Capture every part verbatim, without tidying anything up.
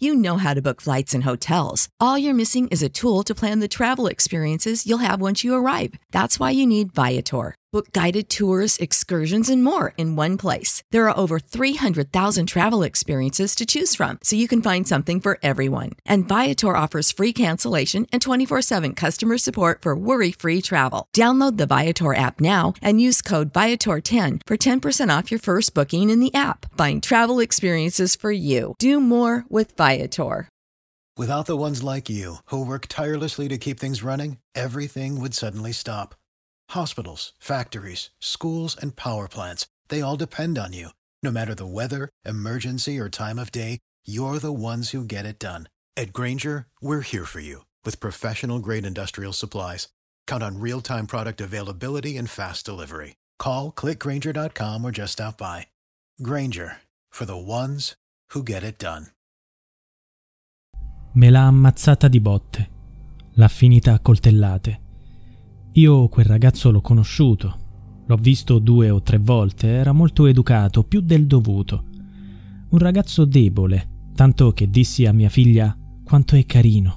You know how to book flights and hotels. All you're missing is a tool to plan the travel experiences you'll have once you arrive. That's why you need Viator. Book guided tours, excursions, and more in one place. There are over three hundred thousand travel experiences to choose from, so you can find something for everyone. And Viator offers free cancellation and twenty-four seven customer support for worry-free travel. Download the Viator app now and use code Viator ten for ten percent off your first booking in the app. Find travel experiences for you. Do more with Viator. Without the ones like you, who work tirelessly to keep things running, everything would suddenly stop. Hospitals, factories, schools, and power plants, they all depend on you. No matter the weather, emergency, or time of day, you're the ones who get it done. At Grainger, we're here for you with professional-grade industrial supplies. Count on real-time product availability and fast delivery. Call, click grainger dot com, or just stop by. Grainger, for the ones who get it done. Me l'ha ammazzata di botte. L'ha finita a coltellate. Io quel ragazzo l'ho conosciuto, l'ho visto due o tre volte, era molto educato, più del dovuto. Un ragazzo debole, tanto che dissi a mia figlia quanto è carino.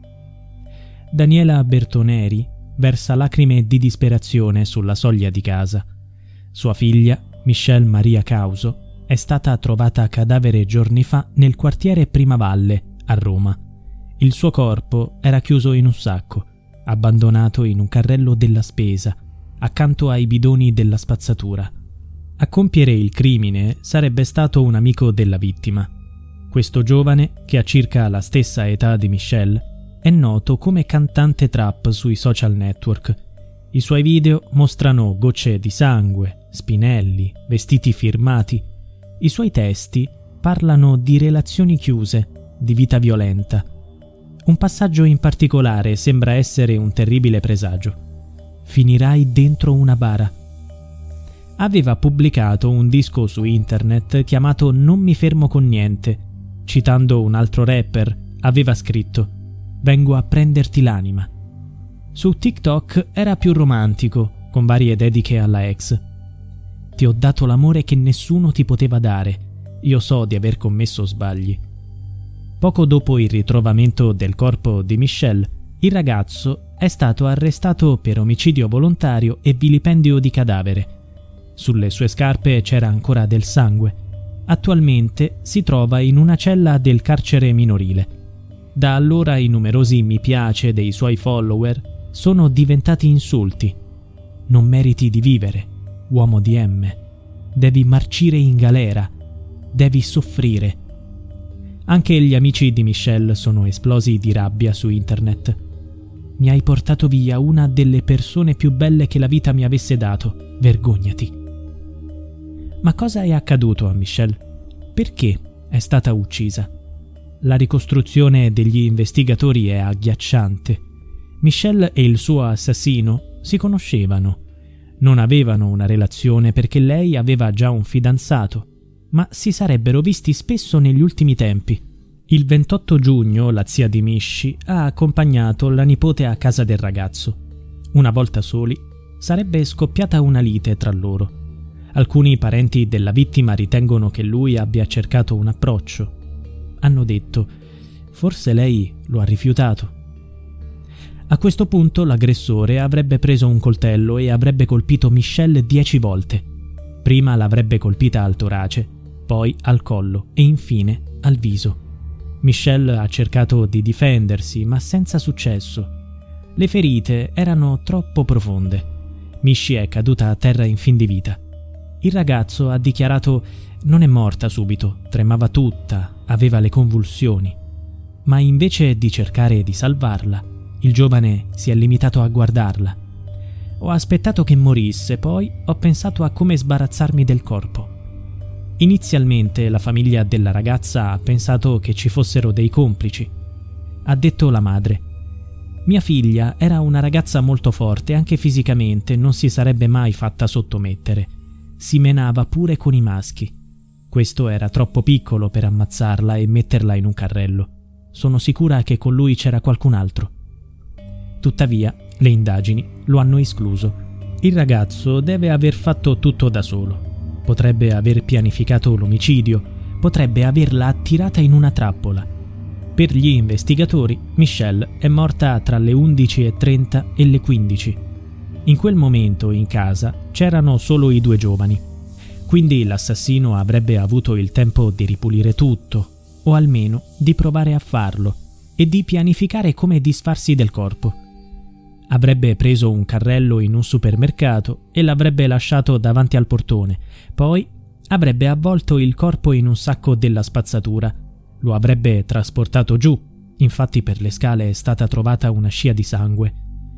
Daniela Bertoneri versa lacrime di disperazione sulla soglia di casa. Sua figlia, Michelle Maria Causo, è stata trovata cadavere giorni fa nel quartiere Primavalle, a Roma. Il suo corpo era chiuso in un sacco, abbandonato in un carrello della spesa, accanto ai bidoni della spazzatura. A compiere il crimine sarebbe stato un amico della vittima. Questo giovane, che ha circa la stessa età di Michelle, è noto come cantante trap sui social network. I suoi video mostrano gocce di sangue, spinelli, vestiti firmati. I suoi testi parlano di relazioni chiuse, di vita violenta. Un passaggio in particolare sembra essere un terribile presagio. Finirai dentro una bara. Aveva pubblicato un disco su internet chiamato Non mi fermo con niente. Citando un altro rapper, aveva scritto: vengo a prenderti l'anima. Su TikTok era più romantico, con varie dediche alla ex. Ti ho dato l'amore che nessuno ti poteva dare. Io so di aver commesso sbagli. Poco dopo il ritrovamento del corpo di Michelle, il ragazzo è stato arrestato per omicidio volontario e vilipendio di cadavere. Sulle sue scarpe c'era ancora del sangue. Attualmente si trova in una cella del carcere minorile. Da allora i numerosi mi piace dei suoi follower sono diventati insulti. Non meriti di vivere, uomo di M. Devi marcire in galera. Devi soffrire. Anche gli amici di Michelle sono esplosi di rabbia su internet. Mi hai portato via una delle persone più belle che la vita mi avesse dato. Vergognati. Ma cosa è accaduto a Michelle? Perché è stata uccisa? La ricostruzione degli investigatori è agghiacciante. Michelle e il suo assassino si conoscevano. Non avevano una relazione perché lei aveva già un fidanzato, ma si sarebbero visti spesso negli ultimi tempi. Il ventotto giugno la zia di Mishi ha accompagnato la nipote a casa del ragazzo. Una volta soli, sarebbe scoppiata una lite tra loro. Alcuni parenti della vittima ritengono che lui abbia cercato un approccio. Hanno detto: forse lei lo ha rifiutato. A questo punto l'aggressore avrebbe preso un coltello e avrebbe colpito Michelle dieci volte. Prima l'avrebbe colpita al torace, poi al collo e infine al viso. Michelle ha cercato di difendersi, ma senza successo. Le ferite erano troppo profonde. Mishi è caduta a terra in fin di vita. Il ragazzo ha dichiarato: non è morta subito, tremava tutta, aveva le convulsioni. Ma invece di cercare di salvarla, il giovane si è limitato a guardarla. Ho aspettato che morisse, poi ho pensato a come sbarazzarmi del corpo. Inizialmente la famiglia della ragazza ha pensato che ci fossero dei complici. Ha detto la madre: mia figlia era una ragazza molto forte, anche fisicamente, non si sarebbe mai fatta sottomettere. Si menava pure con i maschi. Questo era troppo piccolo per ammazzarla e metterla in un carrello. Sono sicura che con lui c'era qualcun altro. Tuttavia, le indagini lo hanno escluso. Il ragazzo deve aver fatto tutto da solo. Potrebbe aver pianificato l'omicidio, potrebbe averla attirata in una trappola. Per gli investigatori, Michelle è morta tra le undici e trenta e le quindici. In quel momento in casa c'erano solo i due giovani, quindi l'assassino avrebbe avuto il tempo di ripulire tutto, o almeno di provare a farlo, e di pianificare come disfarsi del corpo. Avrebbe preso un carrello in un supermercato e l'avrebbe lasciato davanti al portone, poi avrebbe avvolto il corpo in un sacco della spazzatura, lo avrebbe trasportato giù, infatti per le scale è stata trovata una scia di sangue,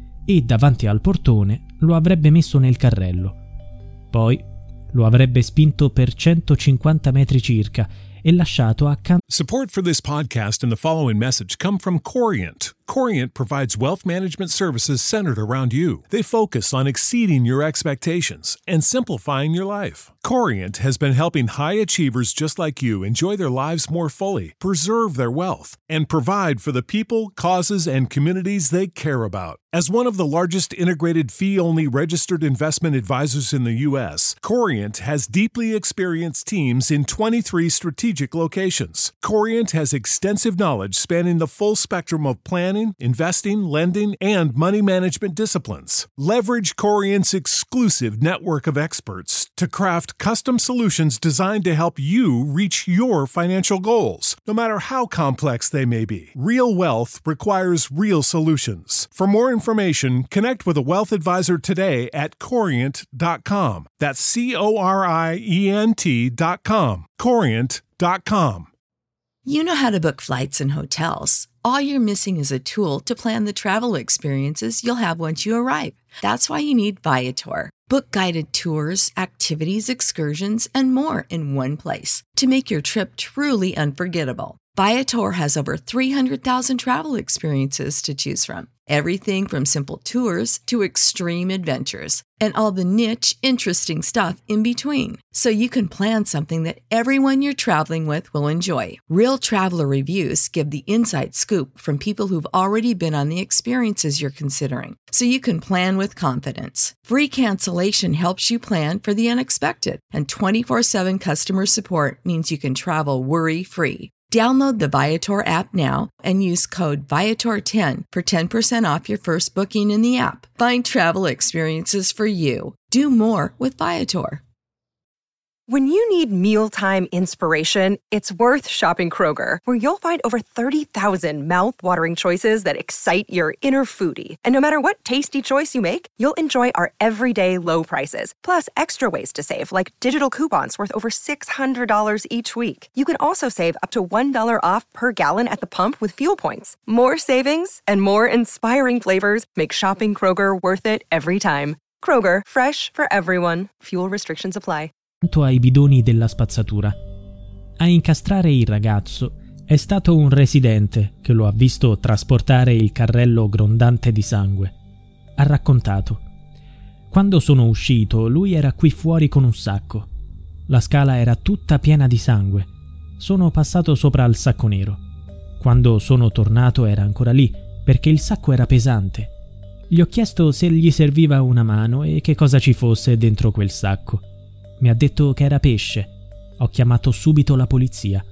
e davanti al portone lo avrebbe messo nel carrello. Poi lo avrebbe spinto per centocinquanta metri circa e lasciato accanto. Support for this podcast and the following message come from Corient. Corient provides wealth management services centered around you. They focus on exceeding your expectations and simplifying your life. Corient has been helping high achievers just like you enjoy their lives more fully, preserve their wealth, and provide for the people, causes, and communities they care about. As one of the largest integrated fee-only registered investment advisors in the U S, Corient has deeply experienced teams in twenty-three strategic locations. Corient has extensive knowledge spanning the full spectrum of planning, investing, lending, and money management disciplines. Leverage Corient's exclusive network of experts to craft custom solutions designed to help you reach your financial goals, no matter how complex they may be. Real wealth requires real solutions. For more information, connect with a wealth advisor today at corient dot com. That's C O R I E N T dot com. corient dot com. You know how to book flights and hotels. All you're missing is a tool to plan the travel experiences you'll have once you arrive. That's why you need Viator. Book guided tours, activities, excursions, and more in one place to make your trip truly unforgettable. Viator has over three hundred thousand travel experiences to choose from. Everything from simple tours to extreme adventures and all the niche, interesting stuff in between. So you can plan something that everyone you're traveling with will enjoy. Real traveler reviews give the inside scoop from people who've already been on the experiences you're considering. So you can plan with confidence. Free cancellation helps you plan for the unexpected. And twenty-four seven customer support means you can travel worry-free. Download the Viator app now and use code Viator ten for ten percent off your first booking in the app. Find travel experiences for you. Do more with Viator. When you need mealtime inspiration, it's worth shopping Kroger, where you'll find over thirty thousand mouth-watering choices that excite your inner foodie. And no matter what tasty choice you make, you'll enjoy our everyday low prices, plus extra ways to save, like digital coupons worth over six hundred dollars each week. You can also save up to one dollar off per gallon at the pump with fuel points. More savings and more inspiring flavors make shopping Kroger worth it every time. Kroger, fresh for everyone. Fuel restrictions apply. Ai bidoni della spazzatura. A incastrare il ragazzo è stato un residente che lo ha visto trasportare il carrello grondante di sangue. Ha raccontato: quando sono uscito, lui era qui fuori con un sacco. La scala era tutta piena di sangue. Sono passato sopra al sacco nero. Quando sono tornato era ancora lì, perché il sacco era pesante. Gli ho chiesto se gli serviva una mano e che cosa ci fosse dentro quel sacco. Mi ha detto che era pesce. Ho chiamato subito la polizia.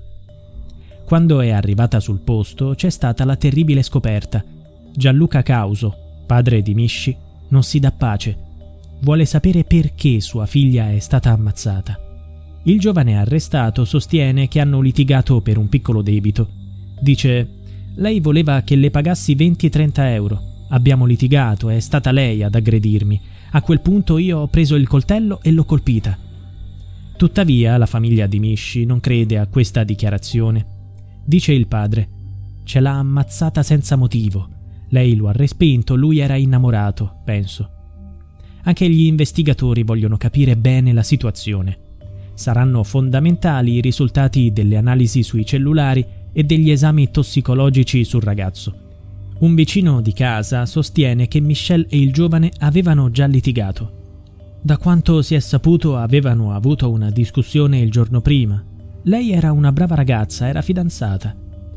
Quando è arrivata sul posto c'è stata la terribile scoperta. Gianluca Causo, padre di Misci, non si dà pace. Vuole sapere perché sua figlia è stata ammazzata. Il giovane arrestato sostiene che hanno litigato per un piccolo debito. Dice: lei voleva che le pagassi venti trenta euro. Abbiamo litigato, è stata lei ad aggredirmi. A quel punto io ho preso il coltello e l'ho colpita. Tuttavia la famiglia di Misci non crede a questa dichiarazione. Dice il padre: ce l'ha ammazzata senza motivo. Lei lo ha respinto, lui era innamorato, penso. Anche gli investigatori vogliono capire bene la situazione. Saranno fondamentali i risultati delle analisi sui cellulari e degli esami tossicologici sul ragazzo. Un vicino di casa sostiene che Michelle e il giovane avevano già litigato. Da quanto si è saputo, avevano avuto una discussione il giorno prima. Lei era una brava ragazza, era fidanzata.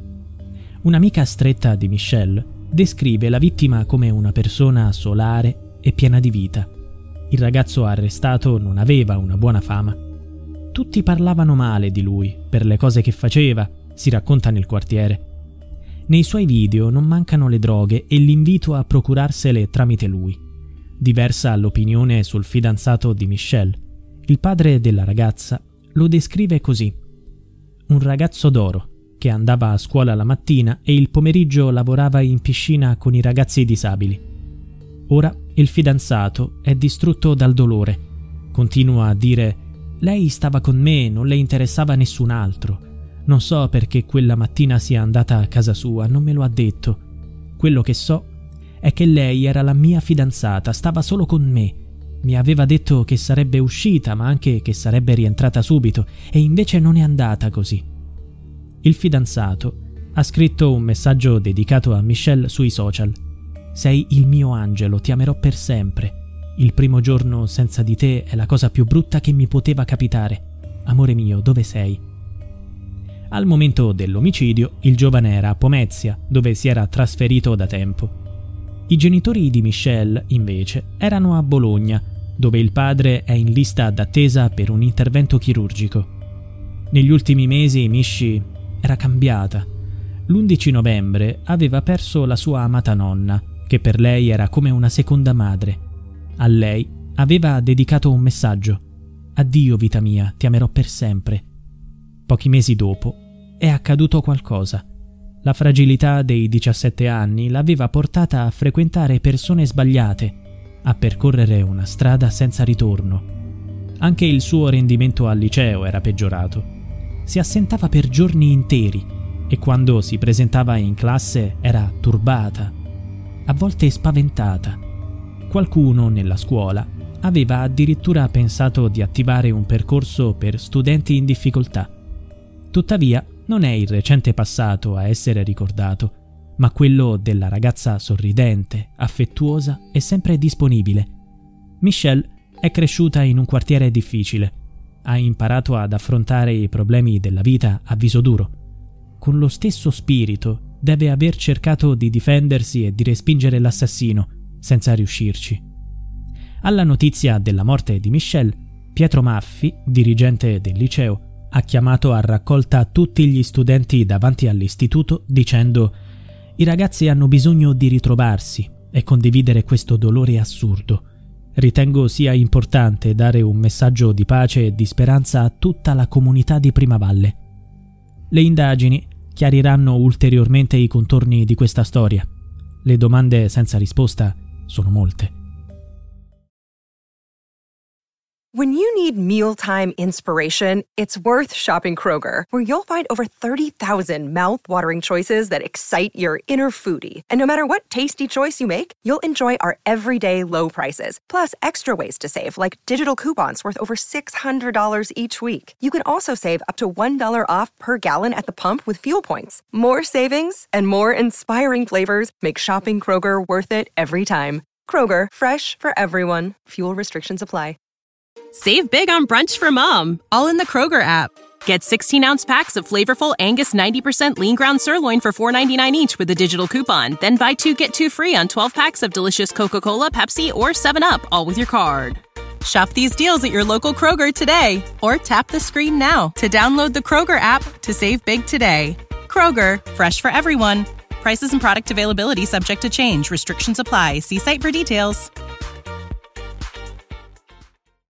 Un'amica stretta di Michelle descrive la vittima come una persona solare e piena di vita. Il ragazzo arrestato non aveva una buona fama. Tutti parlavano male di lui per le cose che faceva, si racconta nel quartiere. Nei suoi video non mancano le droghe e l'invito a procurarsele tramite lui. Diversa l'opinione sul fidanzato di Michelle. Il padre della ragazza lo descrive così: un ragazzo d'oro che andava a scuola la mattina e il pomeriggio lavorava in piscina con i ragazzi disabili. Ora il fidanzato è distrutto dal dolore. Continua a dire: lei stava con me, non le interessava nessun altro. Non so perché quella mattina sia andata a casa sua, non me lo ha detto. Quello che so è che lei era la mia fidanzata, stava solo con me. Mi aveva detto che sarebbe uscita, ma anche che sarebbe rientrata subito, e invece non è andata così. Il fidanzato ha scritto un messaggio dedicato a Michelle sui social. Sei il mio angelo, ti amerò per sempre. Il primo giorno senza di te è la cosa più brutta che mi poteva capitare. Amore mio, dove sei? Al momento dell'omicidio, il giovane era a Pomezia, dove si era trasferito da tempo. I genitori di Michelle, invece, erano a Bologna, dove il padre è in lista d'attesa per un intervento chirurgico. Negli ultimi mesi Michi era cambiata. L'undici novembre aveva perso la sua amata nonna, che per lei era come una seconda madre. A lei aveva dedicato un messaggio: addio vita mia, ti amerò per sempre. Pochi mesi dopo è accaduto qualcosa. La fragilità dei diciassette anni l'aveva portata a frequentare persone sbagliate, a percorrere una strada senza ritorno. Anche il suo rendimento al liceo era peggiorato. Si assentava per giorni interi e quando si presentava in classe era turbata, a volte spaventata. Qualcuno nella scuola aveva addirittura pensato di attivare un percorso per studenti in difficoltà. Tuttavia, non è il recente passato a essere ricordato, ma quello della ragazza sorridente, affettuosa e sempre disponibile. Michelle è cresciuta in un quartiere difficile. Ha imparato ad affrontare i problemi della vita a viso duro. Con lo stesso spirito deve aver cercato di difendersi e di respingere l'assassino, senza riuscirci. Alla notizia della morte di Michelle, Pietro Maffi, dirigente del liceo, ha chiamato a raccolta tutti gli studenti davanti all'istituto dicendo: i ragazzi hanno bisogno di ritrovarsi e condividere questo dolore assurdo. Ritengo sia importante dare un messaggio di pace e di speranza a tutta la comunità di Primavalle. Le indagini chiariranno ulteriormente i contorni di questa storia. Le domande senza risposta sono molte. When you need mealtime inspiration, it's worth shopping Kroger, where you'll find over thirty thousand mouth-watering choices that excite your inner foodie. And no matter what tasty choice you make, you'll enjoy our everyday low prices, plus extra ways to save, like digital coupons worth over six hundred dollars each week. You can also save up to one dollar off per gallon at the pump with fuel points. More savings and more inspiring flavors make shopping Kroger worth it every time. Kroger, fresh for everyone. Fuel restrictions apply. Save big on brunch for mom, all in the Kroger app. Get sixteen-ounce packs of flavorful Angus ninety percent lean ground sirloin for four ninety-nine each with a digital coupon. Then buy two, get two free on twelve packs of delicious Coca-Cola, Pepsi, or seven up, all with your card. Shop these deals at your local Kroger today, or tap the screen now to download the Kroger app to save big today. Kroger, fresh for everyone. Prices and product availability subject to change. Restrictions apply. See site for details.